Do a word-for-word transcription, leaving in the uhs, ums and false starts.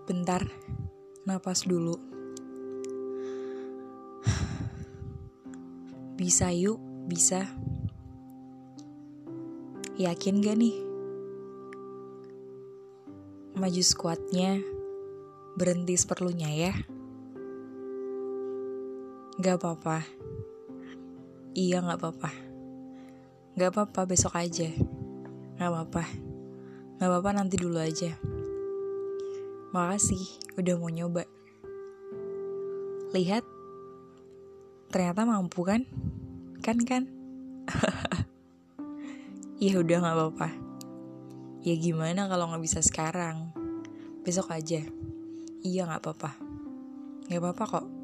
Bentar, napas dulu. Bisa yuk, bisa. Yakin gak nih? Maju squatnya, berhenti seperlunya ya. Gak apa-apa. Iya gak apa-apa. Gak apa-apa, besok aja. Gak apa-apa. Gak apa-apa, nanti dulu aja. Makasih udah mau nyoba. Lihat, ternyata mampu kan? Kan kan? Ya udah gak apa-apa. Ya gimana kalau gak bisa sekarang? Besok aja. Iya gak apa-apa. Gak apa-apa kok.